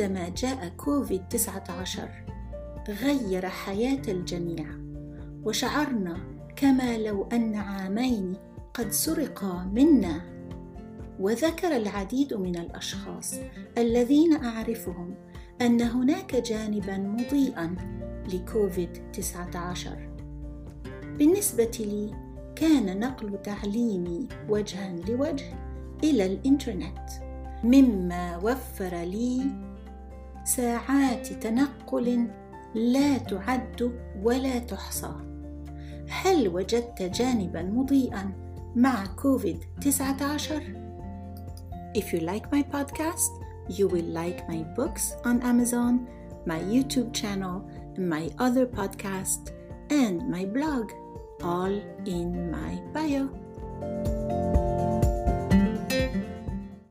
عندما جاء كوفيد-19 غير حياة الجميع، وشعرنا كما لو أن عامين قد سرقا منا. وذكر العديد من الأشخاص الذين أعرفهم أن هناك جانباً مضيئاً لكوفيد-19. بالنسبة لي كان نقل تعليمي وجهاً لوجه إلى الإنترنت، مما وفر لي ساعات تنقل لا تعد ولا تحصى. هل وجدت جانباً مضيئاً مع كوفيد-19؟ If you like my podcast, you will like my books on Amazon, my YouTube channel, my other podcast, and my blog, all in my bio.